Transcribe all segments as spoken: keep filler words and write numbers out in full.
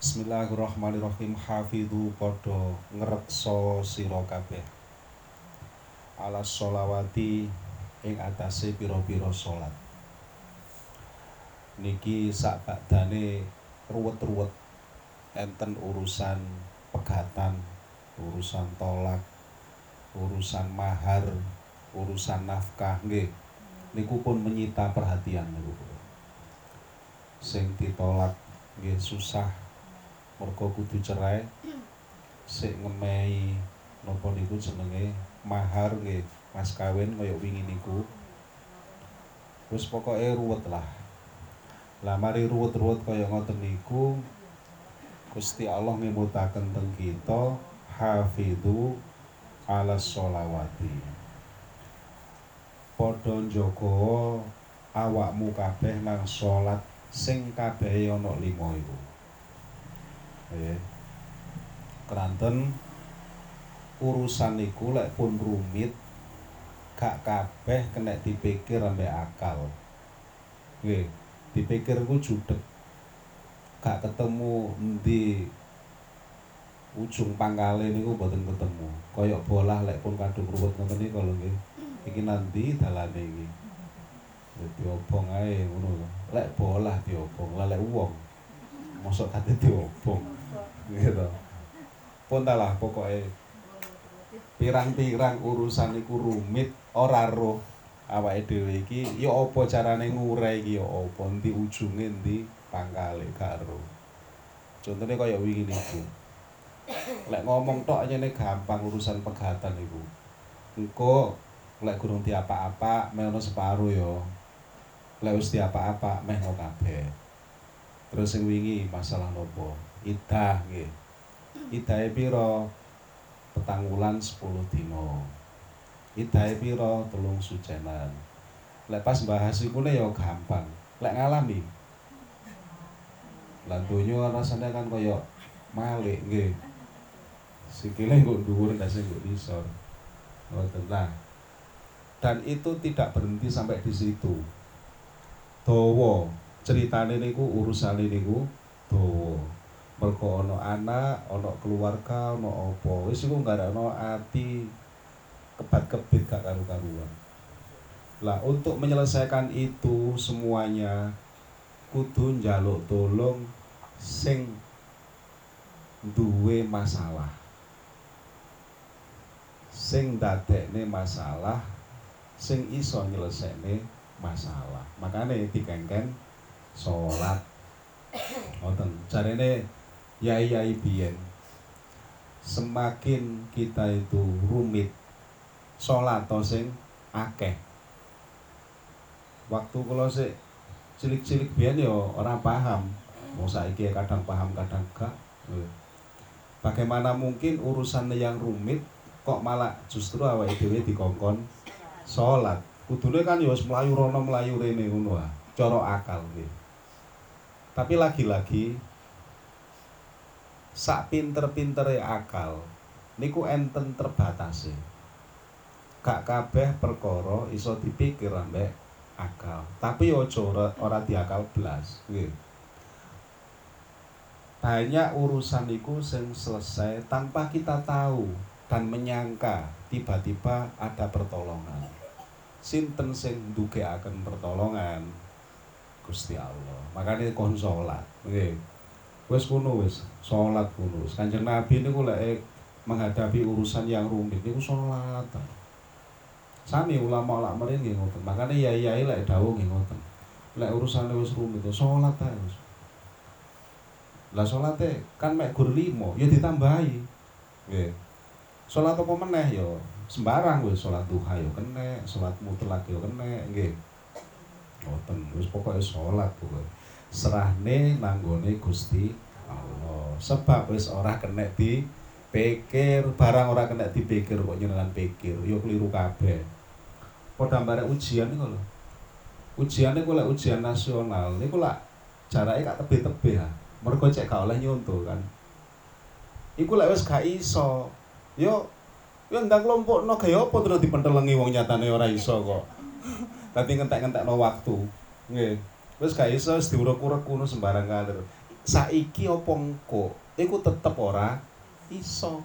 Bismillahirrahmanirrahim. Hafidhu padha ngreksa sira kabeh ala sholawati ing atase pira-pira salat. Niki sakbadane ruwet-ruwet enten urusan pegatan, urusan tolak, urusan mahar, urusan nafkah nggih. Niku pun menyita perhatian niku. Sing ditolak nggih susah mergo kudu cerai, sik ngemehi napa niku jenenge mahar nggih, mas kawin kaya wingi niku. Wis pokoke ruwet lah. Lah mari ruwet-ruwet kaya ngoten niku Gusti Allah ngemutaken teng kita hafidhu ala sholawati. Padha njaga awakmu kabeh nang salat sing kabehe ana lima iku. Nggih. Keranten urusan niku lek pun rumit gak kabeh kena dipikir ambek akal. Nggih, dipikir ku judeg. Gak ketemu endi ujung pangkale niku mboten ketemu. Kaya bolah lek pun kadung ruwet ngoten niku lho nggih. Iki nanti dalane iki. Diobong ae ngono lho. Lek bolah diobong, lah lek wong mosok kate diobong. Gitu. Pun talah pokoke pirang-pirang urusan iku rumit, ora roh awake dhewe iki ya apa carane ngurai iki ya apa, endi ujunge endi pangkale gak roh. Contone kaya wingi niku. Lek ngomong tok nyene gampang urusan pegatan iku. Engko lek gurung diapa-apa meh ono separo ya. Lek wis diapa-apa meh ono kabeh. Terus sing wingi masalah nopo? Idah nggih. Idahe pira? Petang wulan sepuluh dina. Idahe pira? Telung sucenan. Lek pas bahas iku ne ya gampang. Lek ngalami lan donya rasane kan kaya malik nggih. Sikile nggo dhuwur ndase nggo isor. Ngoten lah. Dan itu tidak berhenti sampai di situ. Dawa ceritane niku urusane niku dawa. Mergo ana anak, ana keluarga, ana apa. Wis iku nggarakno ati kebat-kebit gak karu-karuan. Lah untuk menyelesaikan itu semuanya kudu njaluk tolong sing duwe masalah. Sing dadekne masalah, sing iso nyelesekne masalah. Makane dikengken salat. Ngoten. Jarene yai-yai biyen, semakin kita itu rumit salat to sing akeh. Waktu kula sik cilik-cilik biyen ya ora paham. Wong saiki kadang paham kadang gak. Bagaimana mungkin urusan yang rumit kok malah justru awake dhewe dikongkon salat. Kudune kan ya wis mlayu rono mlayu rene ngono ah, cara akal nggih. Tapi lagi-lagi sak pinter-pintere akal niku enten terbatase. Gak kabeh perkara iso dipikir ambek akal. Tapi aja ora, ora diakal blas, nggih. Banyak urusan niku sing selesai tanpa kita tahu dan menyangka tiba-tiba ada pertolongan. Sinten sing ndugekaken pertolongan? Gusti Allah. Makane kon salat, nggih. Wis kuno wis, salat kuno. Kanjeng Nabi niku lek menghadapi urusan yang rumit niku salat. Sami ulama lak mrene nggih ngoten. Makane yai-yai lek dawuh nggih ngoten. Lek urusane wis rumit salat ae wis. Lah salate kan mek gur lima ya ditambahi. Nggih. Salat apa meneh ya sembarang wis, salat duha ya kena, salat mutlak ya kena, nggih. Ngoten, wis pokoke salat pokoke. Serahne nanggone Gusti Allah. Sebab wis ora kena dipikir, barang ora kena dipikir kok nyenengan pikir, ya keliru kabeh. Padha barek ujian niku lho. Ujian niku lek ujian nasional niku lak jarake gak tebih-tebih ah. Mergo cek gak oleh nyonto kan. Iku lek wis gak iso, yo yo ndang klompokno gaya apa terus dipentelengi wong nyatane ora iso kok. Dadi ngentek-ngentekno waktu. Nggih. Wis gak iso wis diurek-urek kuno sembarang kalir. saiki apa engko iku tetep ora iso.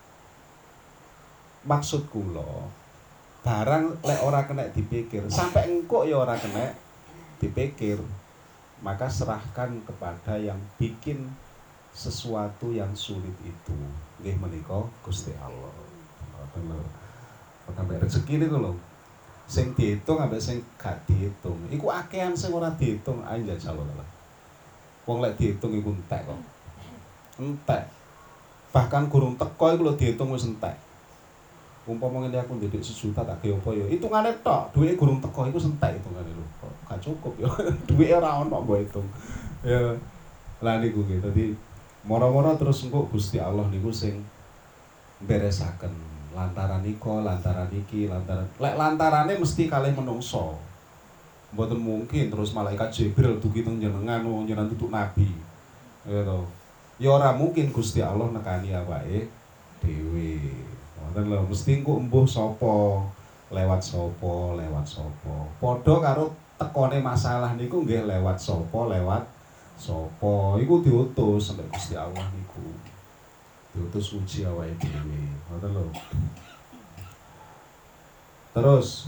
Maksud kula barang lek ora kena dipikir sampai engko ya ora kena dipikir, maka serahkan kepada yang bikin sesuatu yang sulit itu nggih menika Gusti Allah. Bener. Sampai rezeki niku lho. Sing diitung ambek sing gak diitung. Iku akehan sing ora diitung aja insyaallah. Wong lek diitung iku entek kok. Entek. Bahkan gurung teko iku lho diitung wis entek. Umpama ngene aku ndek sejuta tak ge apa ya? Hitungane tok, duwike gurung teko iku entek hitungane lho. Gak cukup ya. Duwike ora ono mbok hitung. Ya. Lah niku nggih. Dadi moro-moro terus engko Gusti Allah niku sing beresaken lantaran iko, lantaran iki, lantaran lek lantarane mesti kalih menungso. Mboten mungkin terus malaikat Jibril dugi teng jenengan wong jenengan tutuk nabi. Ya to. Ya ora mungkin Gusti Allah nekani awake dhewe. Wonten lho mesti engko embuh sapa, lewat sapa, lewat sapa. Padha karo tekone masalah niku nggih lewat sapa, lewat sapa. Iku diutus sampai Gusti Allah niku. Diutus uji awake dhewe. Ngoten lho. Terus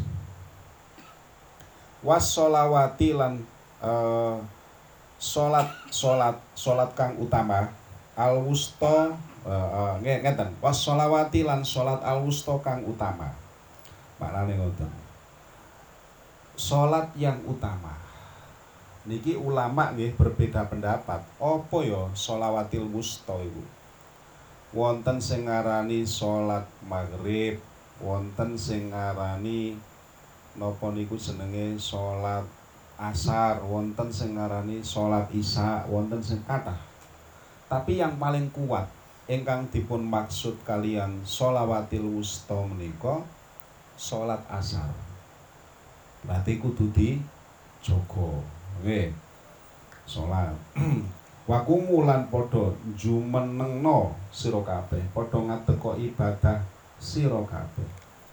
wassolawati lan uh, salat salat salat kang utama al wusta uh, uh, ngeten wassolawati lan salat al wusta kang utama. Maknane ngoten. Salat yang utama. Niki ulama nggih berbeda pendapat. Apa ya sholawatil wusta iku? Wonten sing ngarani salat maghrib, wonten sing ngarani napa niku jenenge salat asar, wonten sing ngarani salat isya, wonten sing kathah. Tapi yang paling kuat ingkang dipun maksud kalian sholawatil wusta menika salat asar. Berarti kudu dijaga. Nggih. Salat wakumu lan padha jumenengno sira kabeh, padha ngadeka ibadah sira kabeh.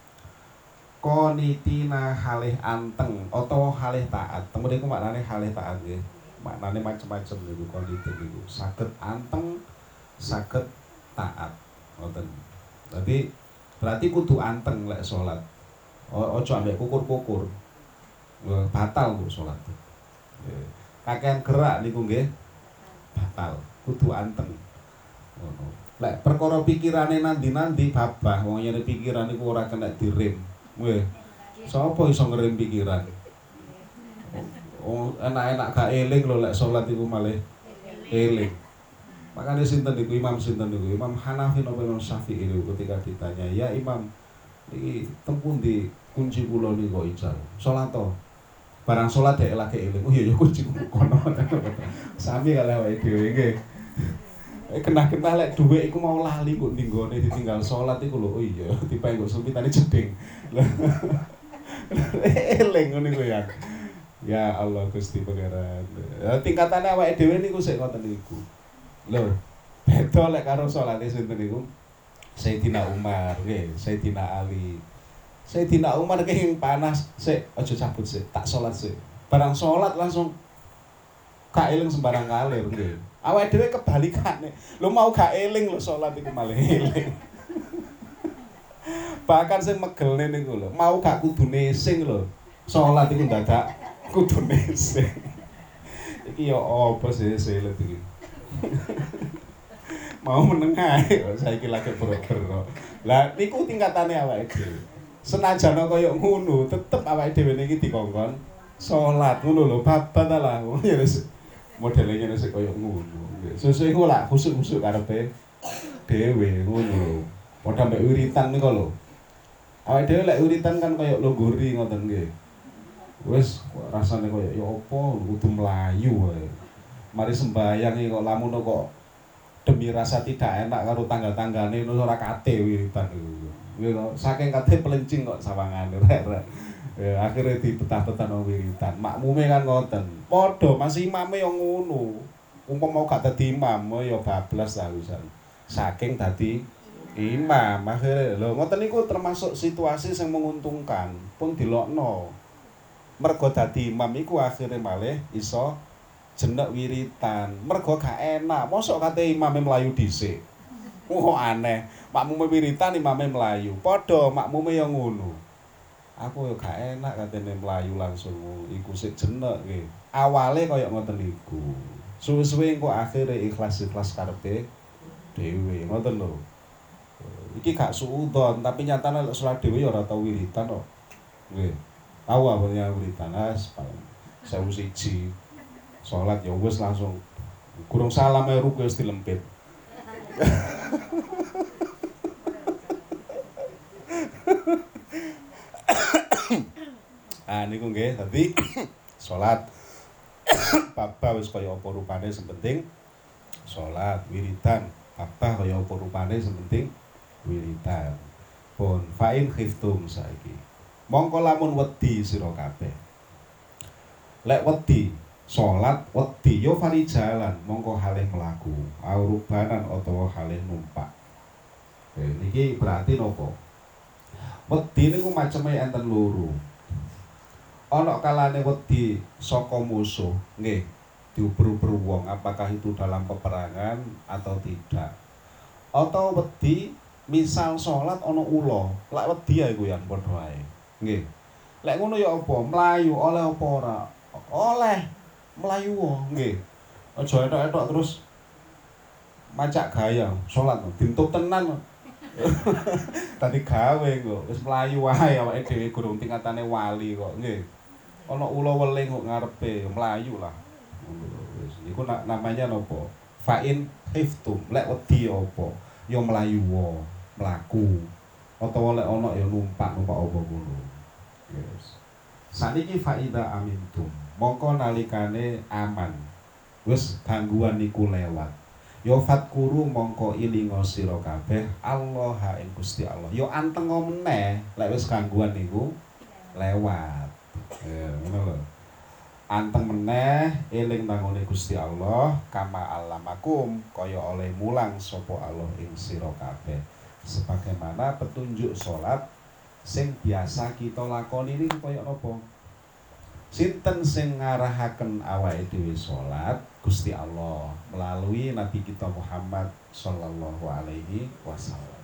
Qanitina halih anteng utawa halih taat. Temen iku maknane halih taat nggih. Maknane macam-macam niku qanitin niku. Saged anteng, saged taat. Ngoten. Dadi berarti kudu anteng lek salat. Aja ambek kukur-kukur. Batal kok salat. Kakean gerak niku nggih batal, kudu anteng. Ngono. Lek perkara pikirane nandi-nandi babah, wong yen pikiran iku ora kena direm. Nggih. Sapa iso ngerem pikiran? Oh, enak-enak gak eling lho lek salat iku malih eling. Makane sinten niku Imam sinten niku? Imam Hanafi napa Imam Syafi'i niku ketika ditanya, "Ya Imam, iki teng pundi kunci kula niku kok ical?" Salat to. Barang salat dhek lagi eling. Oh iya ya kunci kono. Sami kalih awake dhewe nggih. Kena-kena lek dhuwit iku mau lali kok ninggone ditinggal salat iku lho. Oh iya, tipe kok sumpitane jeding. Eling ngono iku ya. Ya Allah Gusti Pangeran. Tingkatane awake dhewe niku sik ngoten niku. Lho, beda lek karo salate sinten niku? Sayyidina Umar, nggih, Sayyidina Ali. Sayyidina Umar ki panas, sik aja cabut sik, tak salat sik. Barang salat langsung gak eling sembarang kalir nggih. Awake dhewe kebalikane. Lho mau gak eling lho salat iku malah eling. Bahkan sing megelne niku lho, mau gak kudune sing lho. Salat iku dadak kudune sing. Iki ya apa sih selet iki. Mau menengah saiki lagi boro-boro. Lah niku tingkatane awake dhewe. Senajan kaya ngono, tetep awake dhewe niki dikongkon salat ngono lho, babat lah. Ya wis modele ngene sik kaya ngono. Sesuk iku lak khusuk-khusuk karepe dhewe ngono. Padha mbek wiritan niku lho. Awake dhewe lek wiritan kan kaya longgori ngoten nggih. Wis rasane kaya ya apa kudu mlayu wae. Mari sembayang iki kok lamun kok demi rasa tidak enak karo tanggal-tanggane ora kate wiritan iku. Kuwi kok saking kate pelencing kok sawangane rek-rek. Ya akhire dibetah-betah nang wiritan. Makmume kan ngoten. Padha Mas imame yo ngono. Umpama gak dadi imam ya bablas ta wisan. Saking dadi imam akhire lho ngoten niku termasuk situasi sing menguntungkan. Pun dilokno. Mergo dadi imam iku akhire malih iso jenek wiritan. Mergo gak enak, mosok kate imame mlayu dhisik. Oh aneh, makmume wiritan imame mlayu. Padha makmume ya ngono. Aku ya gak enak katene mlayu langsung iku sik jenek nggih. Awale kaya ngoten niku. Suwe-suwe engko akhire ikhlas-ikhlas karepe dhewe, ngoten lho. Iki gak suudon, tapi nyatane lek salat dhewe ya ora tau wiritan kok. Nggih. Tahu apa yang wiritan as sewu siji. Salat ya wis langsung kurang salam ae ruku wis dilempit. Ah niku nggih, dadi salat babah wis kaya apa rupane sing penting salat wiridan babah kaya apa rupane sing penting wiridan. Pun fa'in khiftum saiki. Mongko lamun wedi sira kabeh. Lek wedi salat wedi ya fali jalan mongko halih mlaku, aurubanan utawa halih numpak. Oke, niki berarti nopo? Wedi niku maceme enten loro. Ana kalane wedi saka musuh, nggih, diuber-uber wong apakah itu dalam peperangan atau tidak. Atau wedi misal salat ana ula, lek wedi ae kuwi padha ae. Nggih. Lek ngono ya apa? Mlayu oleh apa ora? Oleh. Mlayu wae, nggih. Aja etok-etok terus macak gaya salat dintup tenan. Tadi gawe kok wis mlayu wae awake dhewe gurung tingkatane wali kok, nggih. Ana ula weling kok ngarepe mlayu lah. Wis iku namanya napa? Fa'in khiftum. Lek wedi apa? Ya mlayu wae, mlaku. Utawa lek ana ya numpak-numpak apa ngono. Yes. Saniki faida amintum. Mongko nalikane aman. Wis gangguan niku lewat. Ya fatkuru mongko ilinga sira kabeh Allah ing Gusti Allah. Ya anteng meneh lek wis gangguan niku lewat. Ya ngono lho. Anteng meneh eling nangone Gusti Allah kama alamakum kaya oleh mulang sapa Allah ing sira kabeh. Sebagaimana petunjuk salat sing biasa kita lakoni niku kaya napa? Sinten sing ngarahaken awake dhewe salat? Gusti Allah melalui Nabi kita Muhammad sallallahu alaihi wasallam.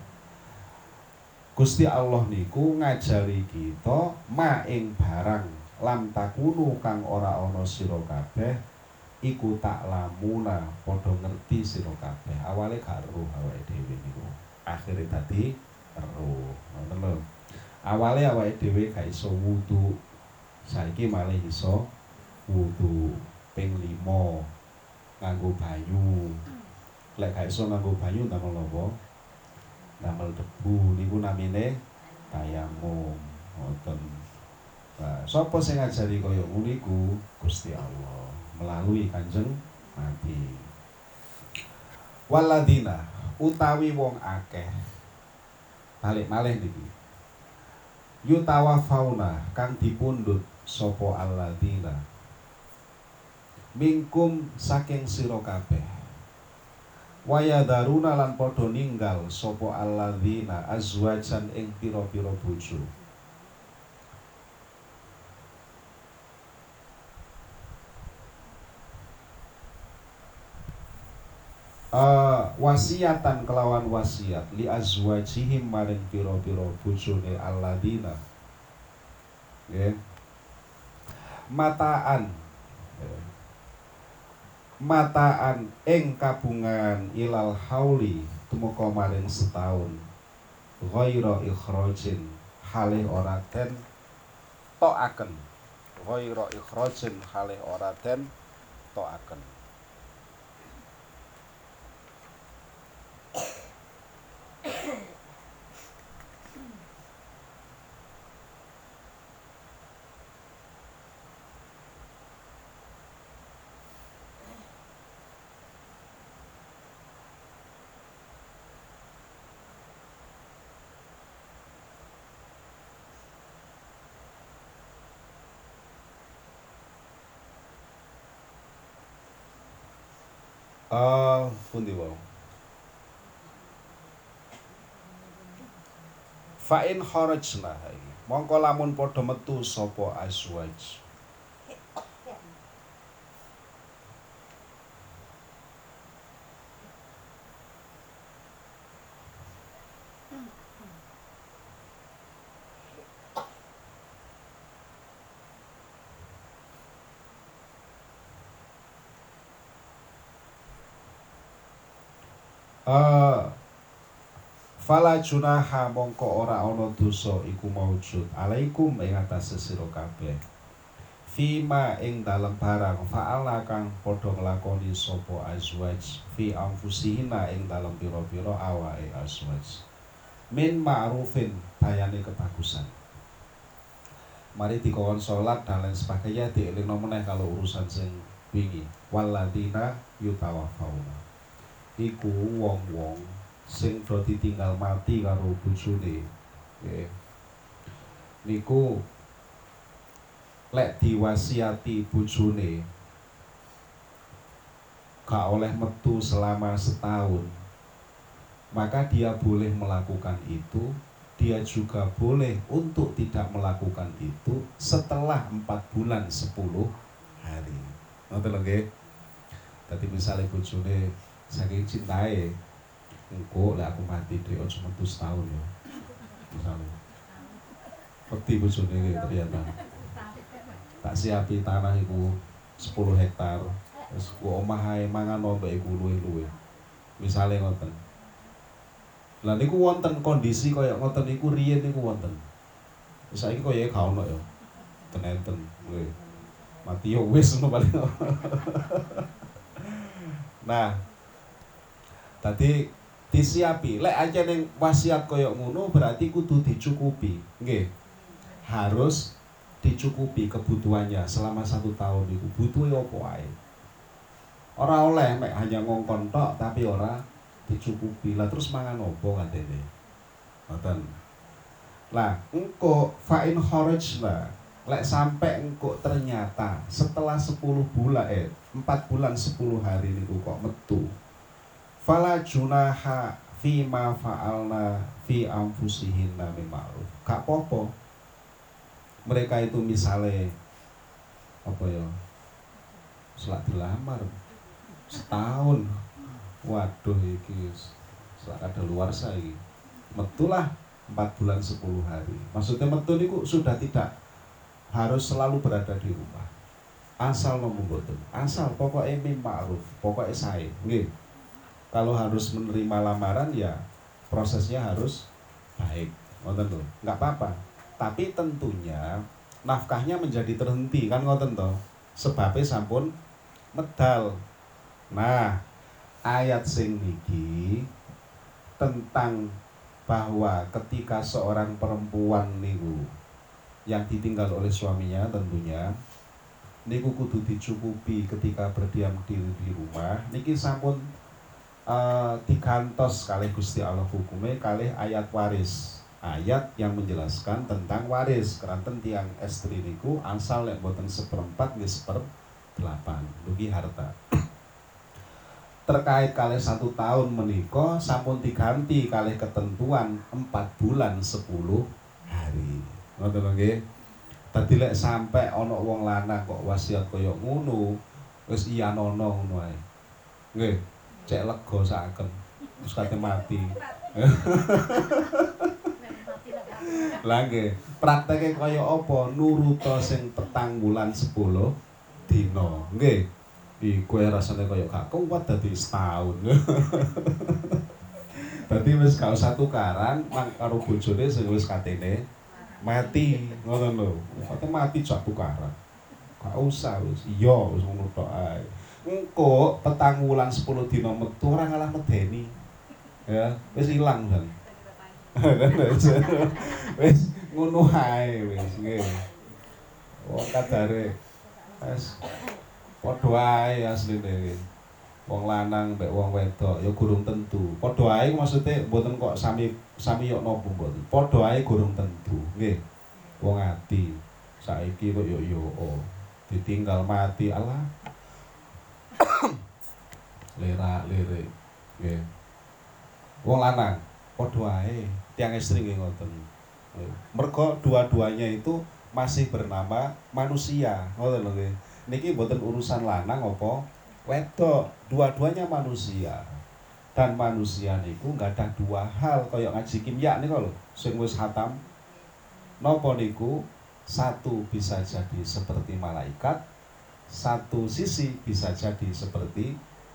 Gusti Allah niku ngajari kita ma ing barang lam takunu kang ora ana sira kabeh iku tak lamuna padha ngerti sira kabeh. Awale gak ero awake dhewe niku. Akhire dadi ero. Ngoten lho. Awale awake dhewe gak iso wudu. Saiki malih iso wudu ping lima nganggo banyu. Lek gak iso nganggo banyu damel apa? Damel debu niku namine tayamum. Ngoten. Nah, sapa sing ngajari kaya ngono iku? Gusti Allah melalui Kanjeng Nabi. Waladina utawi wong akeh. Balik malih niki. Yutawafauna kang dipundhut sapa alladzina mingkum saking sira kabeh. Wayadaruna lan padha ninggal sapa alladzina azwajan ing pira-pira bojo. Uh, wasiatan kelawan wasiat li azwajihim maring pira-pira bojone alladzina. Nggih. Mataan. Mataan ing kabungan ilal hauli tumeka maring setahun. Ghaira ikhrajin halih ora den tokaken. Ghaira ikhrajin halih ora den tokaken. Ah, pundi wae. Fa'in kharajna iki. Mongko lamun padha metu sapa azwaj. uh, fala junaha mongko ora ana dosa iku maujud alaikum ing atase sira kabeh fima ing dalem barang fa'ala kang padha nglakoni sapa azwaj fi anfusihina ing dalem pira-pira awake azwaj min ma'rufin bayane kebagusan. Mari dikon salat dan lain sebagainya dielingno meneh kalau urusan sing wingi waladina yutawafauna iku wong-wong sing do ditinggal mati karo bojone nggih niku lek diwasiati bojone gak oleh metu selama setahun, maka dia boleh melakukan itu. Dia juga boleh untuk tidak melakukan itu setelah empat bulan sepuluh hari. Ngoten lho nggih. Dadi misale bojone saking cintae, engko lek aku mati dhek aja metu setahun ya. Misale. Peti bojone iki ternyata. Tak siapi tanah iku sepuluh hektar. Wis ku omah ae mangan opo iku luwe-luwe. Misale ngoten. Lah niku wonten kondisi kaya ngoten niku riyen niku wonten. Saiki kaya gak ono ya. Tenenten nggih. Mati yo wis ngono paling. Nah, tadi disiapi. Lek aja ning wasiat kaya ngono berarti kudu dicukupi. Nggih. Harus dicukupi kebutuhannya selama satu tahun itu. Butuhe opo ae. Ora oleh mek hanya ngongkon tok tapi ora dicukupi. Lah terus mangan opo katene. Ngoten. Lah, engko fa'in kharajna. Lek sampai engko ternyata setelah sepuluh bulan eh empat bulan sepuluh hari niku kok metu. Fala junaha fi ma fa'alna fi anfusihinna bil ma'ruf. Gak apa-apa. Mereka itu misale apa ya? Selak dilamar setahun. Waduh iki selak ada luar saiki. Metulah empat bulan sepuluh hari. Maksudnya metu niku sudah tidak harus selalu berada di rumah. Asal nomu boten. Asal pokoknya mim ma'ruf, pokoknya sae. Nggih. Kalau harus menerima lamaran ya prosesnya harus baik. Ngoten lho. Enggak apa-apa. Tapi tentunya nafkahnya menjadi terhenti kan ngoten to. Sebabnya sampun medal. Nah, ayat sing niki tentang bahwa ketika seorang perempuan niku yang ditinggal oleh suaminya tentunya niku kudu dicukupi ketika berdiam diri di rumah niki sampun uh, digantos kalih Gusti Allah hukume kalih ayat waris, ayat yang menjelaskan tentang waris keranten tiang estri niku asal lek boten seperempat nggih seperdelapan dugi harta. Terkait kalih satu tahun menika sampun diganti kalih ketentuan empat bulan sepuluh hari. Ngoten nggih. Dadi lek sampe ana wong lanang kok wasiat kaya ngono, wis iya nono ngono ae. Nggih, cek lega saken. Wis kate mati. Lah nggih, prakteke kaya apa nuruta sing petang bulan sepuluh dina. Nggih. Iku rasane kaya gak kuat dadi setahun. Dadi wis gak usah tukaran mang karo bojone sing wis katene mati, ngoten lho. Kate mati jak tukaran. Gak usah wis. Iya wis ngono tok ae. Engko petang wulan sepuluh dina metu ora ngalah medeni. Ya, wis ilang kan. Wis ngono ae wis nggih. Wong kadare wis padha ae asline. Wong lanang mbek wong wedok ya gurung tentu. Padha ae maksude mboten kok sami sami yo napa mboten. Padha ae gurung tentu, nggih. Wong ati saiki kok yo yo oh, ditinggal mati Allah. Lera-lere. Nggih. Wong lanang padha ae tiang istri nggih ngoten. Mergo dua-duanya itu masih bernama manusia, ngoten lho nggih. Niki mboten urusan lanang apa wedok, dua-duanya manusia. Dan manusia niku enggak ada dua hal kaya ngaji kimia niku lho, sing wis khatam. Napa niku? Satu bisa jadi seperti malaikat, satu sisi bisa jadi seperti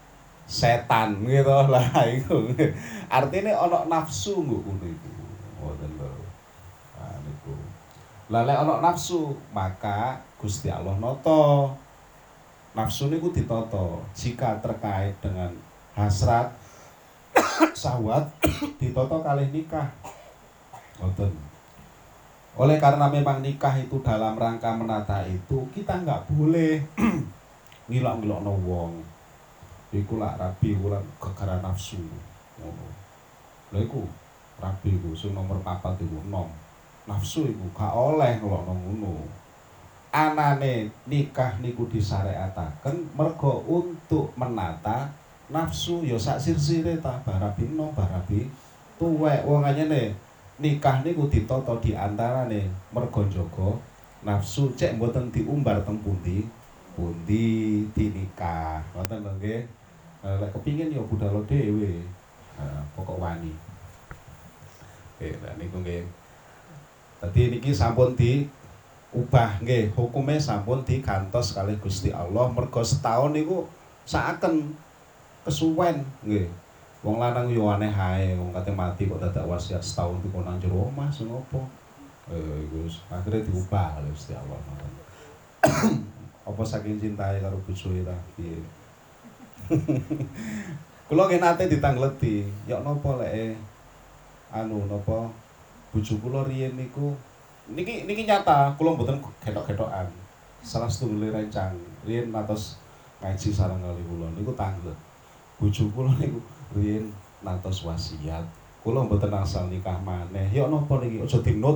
setan gitu lah iku. Artine ana nafsu nggo ngono iku. Ngoten lho. Ah niku. Lah lek ana nafsu, maka Gusti Allah nata. Nafsu niku ditata jika terkait dengan hasrat syahwat ditata kalih nikah. Ngoten. Oleh karena memang nikah itu dalam rangka menata itu, kita nggak boleh ngilok-ngilokno wong. Iku lak rabi kula gegara nafsu ngono. Lha iku rabi iku sing nomor papat iku enom. Nafsu iku gak oleh ngelokno ngono. Anane nikah niku disyariataken mergo untuk menata nafsu ya sak sir-sire ta barabi enom barabi tuwek. Wong anyene nikah niku ditata di antarane mergo njaga nafsu, cek mboten diumbar teng pundi pundi dinikah. Ngoten lho nggih. Lek kepingin ya budal dhewe. Nah, pokok wani. Oke, lah niku nggih. Dadi niki sampun diubah nggih, hukume sampun digantos kalih Gusti Allah mergo setahun niku saaken kesuwen nggih. Wong lanang yo aneh ae, wong kate mati kok dadak wasiat setahun iku nang jero omah sing opo. Eh iku akhire diubah kalih Gusti Allah. Apa saking cintae karo bojoe ta piye. Kula nggih nate ditangleti, ya napa lek anu napa bojo kula riyen niku niki niki nyata, kula mboten getok-getokan. Salah setunggal rencang, riyen natos ngaji sareng kali kula niku tanglet. Bojo kula niku riyen natos wasiat. Kula mboten asal nikah maneh. Ya napa niki aja dinut.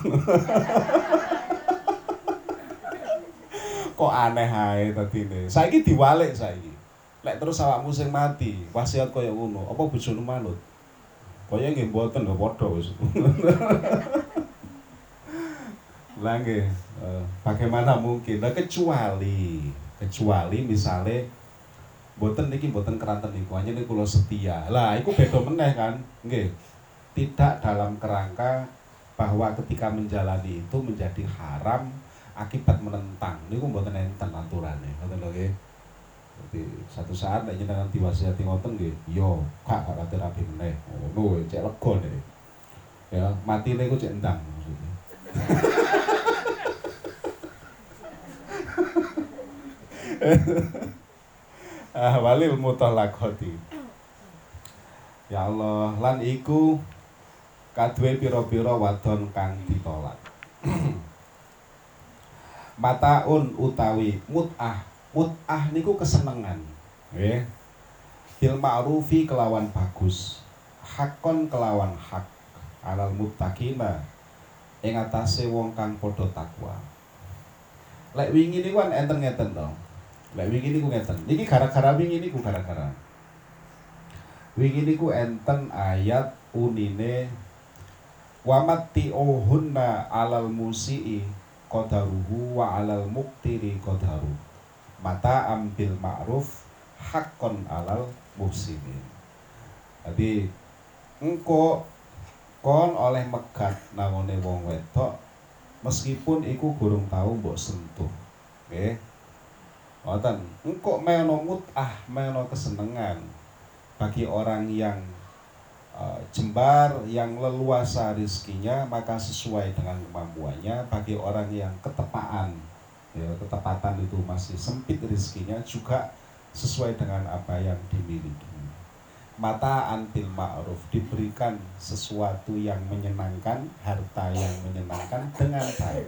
Kok aneh ae dadine. Saiki diwalik saiki. Lek terus awakmu sing mati, wasiat kaya ngono, apa bojone manut? Kaya nggih mboten lho padha wis. Lah nggih, eh, bagaimana mungkin? Lah kecuali kecuali misale mboten niki mboten keranten niku, hanya niku kula setia. Lah iku beda meneh kan, nggih. Tidak dalam kerangka bahwa ketika menjalani itu menjadi haram akibat menentang. Niku mboten enten aturane, ngoten lho nggih. Jadi satu saat nek jenengan diwasiati ngoten nggih, yo gak gak kate rabi meneh. Ngono cek lega nek. Ya, matine ku cek endang maksudnya. Ah walil mutallaqati. Ya Allah, lan iku kaduwe pira-pira wadon kang ditolak. Mataun utawi mut'ah. Mut'ah niku kesenengan, nggih. Bil ma'rufi kelawan bagus, hakon kelawan hak, alal muttaqina ing atase wong kang padha takwa. Lek wingi niku kan enten ngeten to. Lek wingi niku ngeten. Niki gara-gara wingi niku gara-gara. Wingi niku enten ayat unine wa matti'uhunna alal musii qadaruhu wa alal muqtiri qadaru. Mata ambil ma'ruf hakon alal muhsinin. Jadi engko kon oleh megat nangone wong wedok meskipun iku gurung tau mbok sentuh. Nggih. Ngoten. Engko meno mut'ah, meno kesenengan bagi orang yang uh, jembar, yang leluasa rezekinya maka sesuai dengan kemampuannya. Bagi orang yang ketepaan, ya ketepatan itu masih sempit rezekinya juga sesuai dengan apa yang dimiliki. Mataan bil ma'ruf, diberikan sesuatu yang menyenangkan, harta yang menyenangkan dengan baik.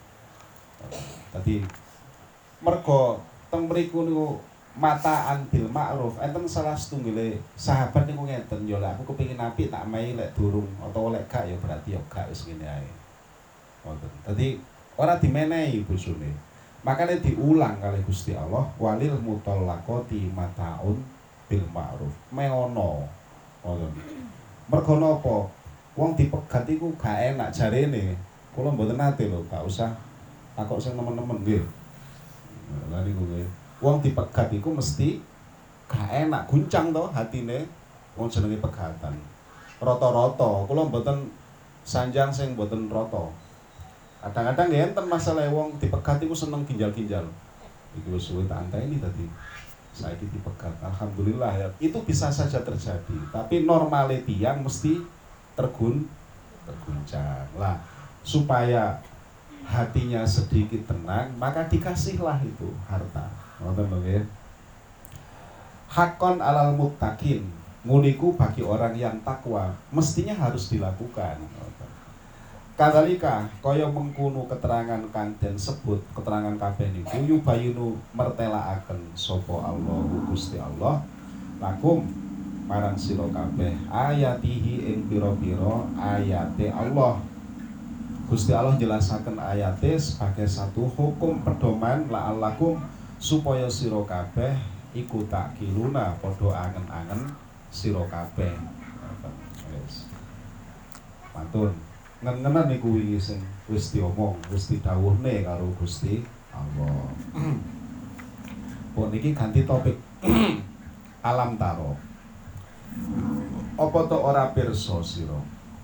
Tadi mergo teng mriku niku mataan bil ma'ruf, enten salah setunggile sahabat niku ngeten, yo lek aku kepengin apik tak mai lek durung atau lek gak ya berarti yo gak wis ngene ae. Ngoten. Dadi ora dimenehi bojone. Makanya diulang kali Gusti Allah, walil mutallaqati mataun bil ma'ruf. Meono. Ngoten. Mergo napa? Wong dipegat iku gak enak jarene. Kula mboten nate lho, gak usah takok sing nemen-nemen nggih. Lah niku nggih. Wong dipegat iku mesti gak enak, guncang to hatine. Wong jenenge pegatan. Rata-rata kula mboten sanjang sing mboten rata. Kadang-kadang ya enten masalah wong dipegat iku seneng ginjal-ginjal. Iki wis suwe tak anteni tadi. saiki dipegat. Alhamdulillah ya. Itu bisa saja terjadi, tapi normality yang mesti tergun terguncang. Lah, supaya hatinya sedikit tenang, maka dikasihlah itu harta. Ngoten lho nggih. Hakon alal muttaqin, muniku bagi orang yang takwa, mestinya harus dilakukan. Kadalika kaya mengkono keterangan kang den sebut, keterangan kabeh niku yubayinu mertelaaken sapa Allah Gusti Allah lakum marang sira kabeh ayatihi ing pira-pira ayate Allah. Gusti Allah jelasaken ayate sebagai satu hukum pedoman la'allakum supaya sira kabeh iku takiluna padha angen-angen sira kabeh. Wis. Mantun. Ngen-ngenan niku wingi sing wis diomong, wis didhawuhne karo Gusti Allah. Pun niki ganti topik. Alam taro. Apa to ora pirsa sira?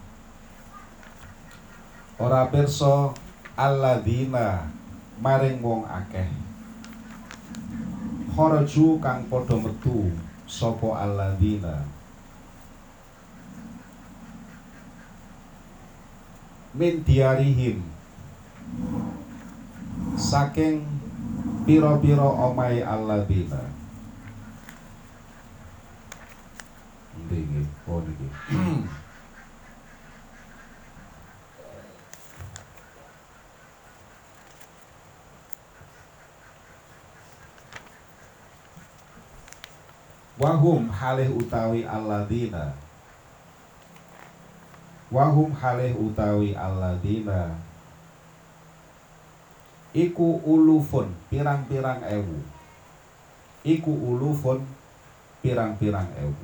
Ora pirsa alladzina maring wong akeh. Kharaju kang padha metu sapa alladzina min diarihim saking pira-pira omahe alladzina. Nggih, oh niki. Wahum halih utawi alladzina Wahum halih utawi alladzina iku ulufun pirang-pirang ewu. Iku ulufun pirang-pirang ewu.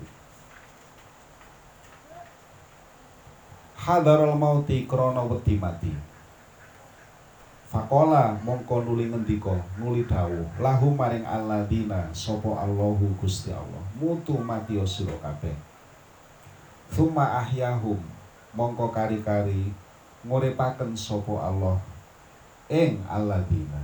Hadarul mauti krana wedi mati. Fakola mongko nuli ngendika, nuli dawuh lahum maring alladzina sapa Allahu Gusti Allah. Mutu mati sira kabeh. Tsumma ahyahum mongko kari-kari nguripaken sapa Allah ing alladzina.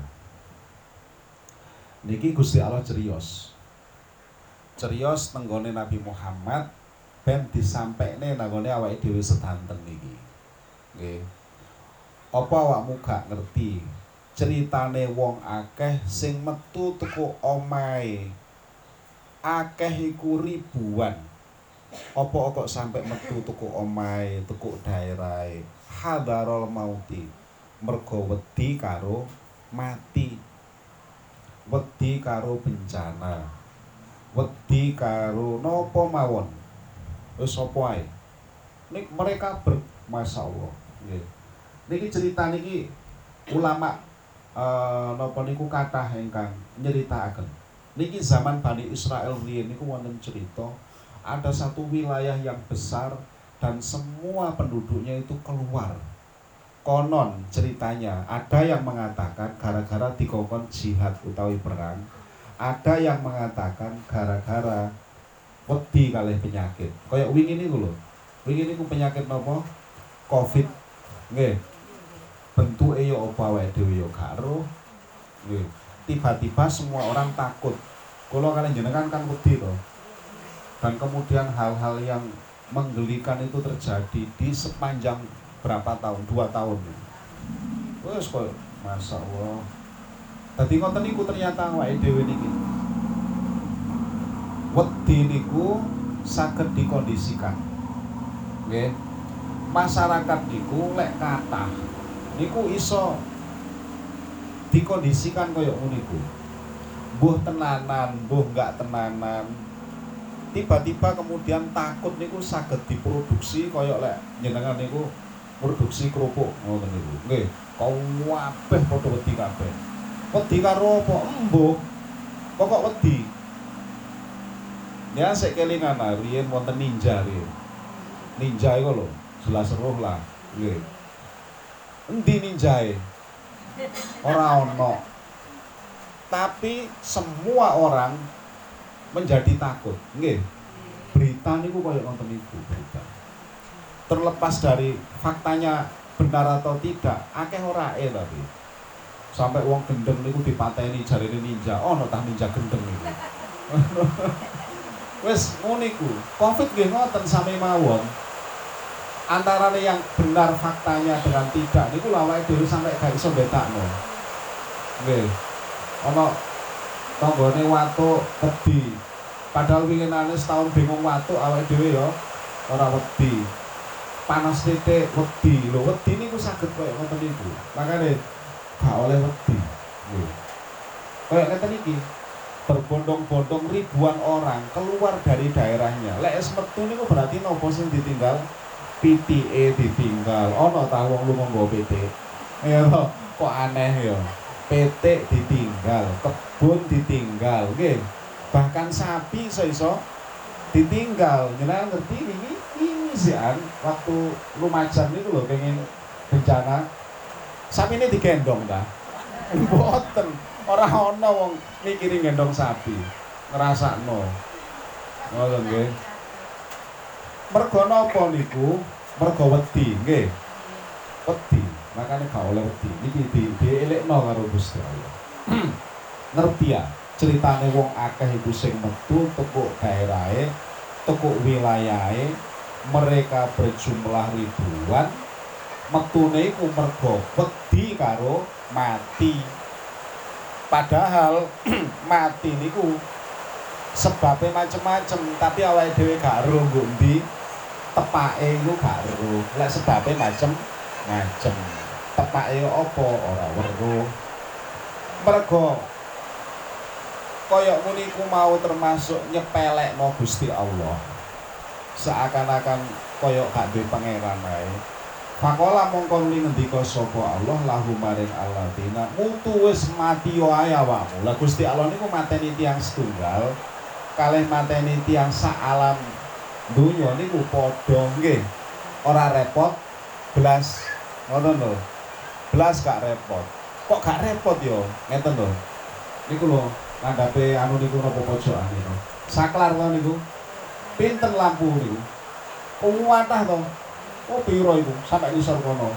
Niki Gusti Allah cerios. Cerios tenggone Nabi Muhammad ben disampaikne nanggone awake dhewe sedanten niki. Nggih. Apa awakmu gak ngerti ceritane wong akeh sing metu teko omahe akeh iku ribuan. Apa kok sampai metu teko omahe, teko daerahe hadarul mauti, mergo wedi karo mati, wedi karo bencana, wedi karo napa mawon, wis apa ae. Nik mereka ber masyaallah nggih. Niki cerita niki ulama uh, napa niku kathah ingkang nyeritakaken. Niki zaman Bani Israel riyen niku wonten cerita ada satu wilayah yang besar dan semua penduduknya itu keluar. Konon ceritanya ada yang mengatakan gara-gara dikongkon jihad utawi perang, ada yang mengatakan gara-gara wedi kalih penyakit. Kayak wingi niku lho. Wingi niku penyakit napa? Covid. Nggih. Bentuke ya apa awake dhewe ya gak ero. Nggih. Tiba-tiba semua orang takut. Kula kalian jenengan kan wedi to. Dan kemudian hal-hal yang menggelikan itu terjadi di sepanjang berapa tahun? Dua tahun. Wes kok masyaallah. Dadi ngoten niku ternyata awake dhewe niki. Wedi niku saged dikondisikan. Nggih. Masyarakat niku lek kathah niku iso dikondisikan kaya niku. Mbuh tenanan, mbuh enggak tenanan. Tiba-tiba kemudian takut niku saged diproduksi kaya lek jenengan niku produksi kerupuk ngoten niku. Nggih, kabeh padha wedi kabeh. Wedi karo apa? Embuh. Pokok wedi. Ya sik kelingan riyen wonten ninja riyen. Ninja iku lho, jelas roh lah. Nggih. Endi ninjae? Ora ono. Tapi semua orang menjadi takut. Nggih. Berita niku kaya ngoten niku berita. Terlepas dari faktanya benar atau tidak, akeh orae tapi. Sampai wong gendeng niku dipateni jarine ninja. Ono tah ninja gendeng niku. Wis ngono iku. Covid nggih ngoten sami mawon. Antara yang benar faktanya dengan tidak niku awake dhewe sampai gak iso betakno. Nggih. Ana tanggane watuk wedi. Padahal winginane setahun bingung watuk awake dhewe ya ora wedi. Panas titik wedi. Lho wedi niku saged koyo ngoten niku. Makane gak oleh wedi. Nggih. Kayak ngeten iki. Berbondong-bondong ribuan orang keluar dari daerahnya. Lek es metu niku berarti nopo sing ditinggal? P T E ditinggal. Ono ta wong lu nggo P T. Ya kok aneh ya. P T ditinggal, kebun ditinggal, nggih. Bahkan sapi iso-iso ditinggal. Jenengan ngerti ini ini sian waktu Lumajang niku lho pengen bencana. Sapi ini digendong ta? Mboten. Ora ana wong mikiri gendong sapi. Ngrasakno. Ngoten nggih. Mergo napa niku? Mergo wedi, nggih. Wedi. Makane gak oleh wedi. Iki di dielekno karo Gusti Allah. Ngerti ya? Ceritane wong akeh iku sing metu tekuk daerahe, tekuk wilayahe, mereka berjumlah ribuan. Metune iku mergo wedi karo mati. Padahal mati niku sebabnya macem-macem, tapi awake dhewe gak ero nggo ndi tepake iku gak ero. Lek sebabe macem-macem. Tepake apa ora weruh. Mergo kaya ngene iku mau termasuk nyepelekno Gusti Allah. Seakan-akan kaya gak duwe pangeran ae. Fakola mongko nuli ngendika sapa Allah lahu maring alladzina mutu wis mati yo ae awakmu. Lah Gusti Allah niku mateni tiyang setunggal kalih mateni tiyang sak alam donya niku padha nggih. Ora repot blas ngoten lho. Blas gak repot. Kok gak repot yo? Ngeten lho. Niku lho ngandhape anu niku napa pojokan niku. Saklar to niku. Pinten lampu niku. Kuwatah to. Oh piro iku sampai ngisor kono.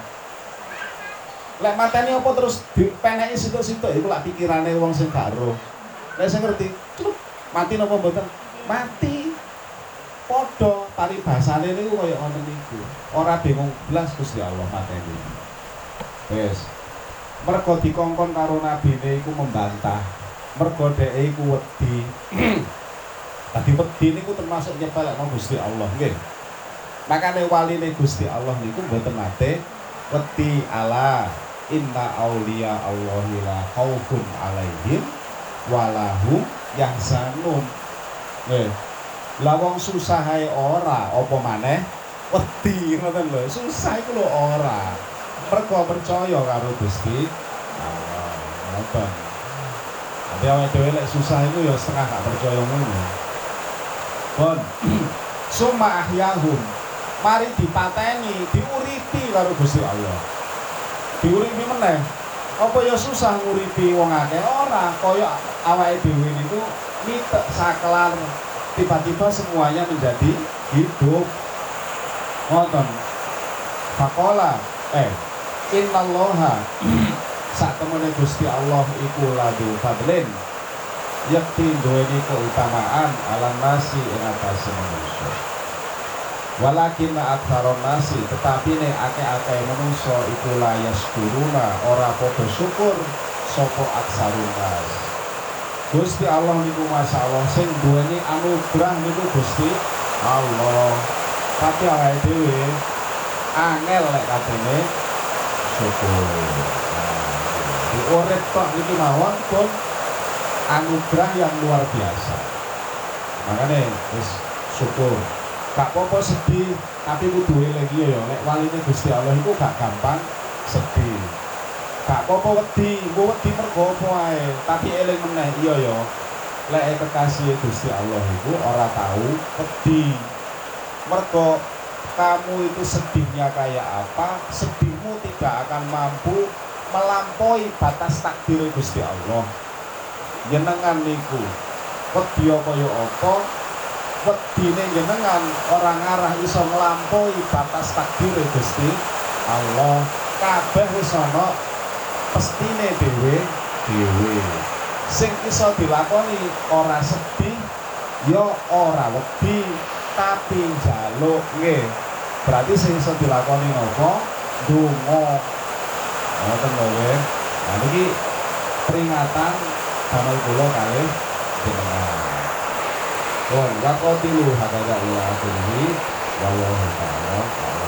Lek mateni apa terus dipeneki situk-situk iku lak pikirane wong sing gak ero. Lek sing ngerti, cuk, mati napa mboten? Mati. Padha paribasane niku kaya ngoten niku. Ora bingung blas Gusti Allah mateni. Wes. Mergo dikongkon karo nabine iku membantah. Mergo dheke iku wedi. Dadi wedi niku termasuk nyepelekno Gusti Allah, nggih. Makane waline Gusti Allah niku mboten nate wedi ala inna auliya Allahi la khaufun alaihim walahum yahzanun. Nggih. Lah wong susah ae ora apa maneh wedi ngoten lho. Susah iku lho ora. Mergo percaya karo Gusti Allah. Ngoten. Tapi awake dhewe lek susah iku ya setengah gak percaya ngono. Pun summa ahyahum mari dipateni, diuripi karo Gusti Allah. Diuripi meneh. Apa ya susah nguripi wong akeh? Ora, kaya awake dhewe niku mitek saklar tiba-tiba semuanya menjadi hidup. Ngoten. Faqala eh innallaha sak temene Gusti Allah iku ladu fadlin. Yakti duweni keutamaan alam nasi ing atase manusia. Walakin aktsaron nasi tetapi nek akeh-akeh manungsa iku layas kuruna ora padha syukur sapa aksarun nas. Gusti Allah niku masyaallah sing duweni anugerah niku Gusti Allah. Tapi awake dhewe angel lek katene syukur. Di urip tok niki mawon pun anugerah yang luar biasa. Makane wis syukur. Gak apa-apa sedih, tapi kudu lagi ya, nek waline Gusti Allah iku gak gampang sedih. Gak apa-apa wedi, mbok wedi mergo apa ae, tapi eling meneh iya ya. Lek kekasih Gusti Allah iku ora tahu wedi. Mergo kamu itu sedihnya kayak apa, sedihmu tidak akan mampu melampaui batas takdir Gusti Allah. Jenengan niku wedi kaya apa? Wedine jenengan orang ngarah iso nglampaui batas takdir Gusti Allah. Kabeh wis ana pestine dhewe dhewe. Sing iso dilakoni ora sedih, ya ora wedi tapi njaluk nggih. Berarti sing iso dilakoni napa? Donga. Ngoten lho nggih. Nah niki peringatan damel kula kalih jenengan. Wong wakotilu hadza ila akhirih wallahu ta'ala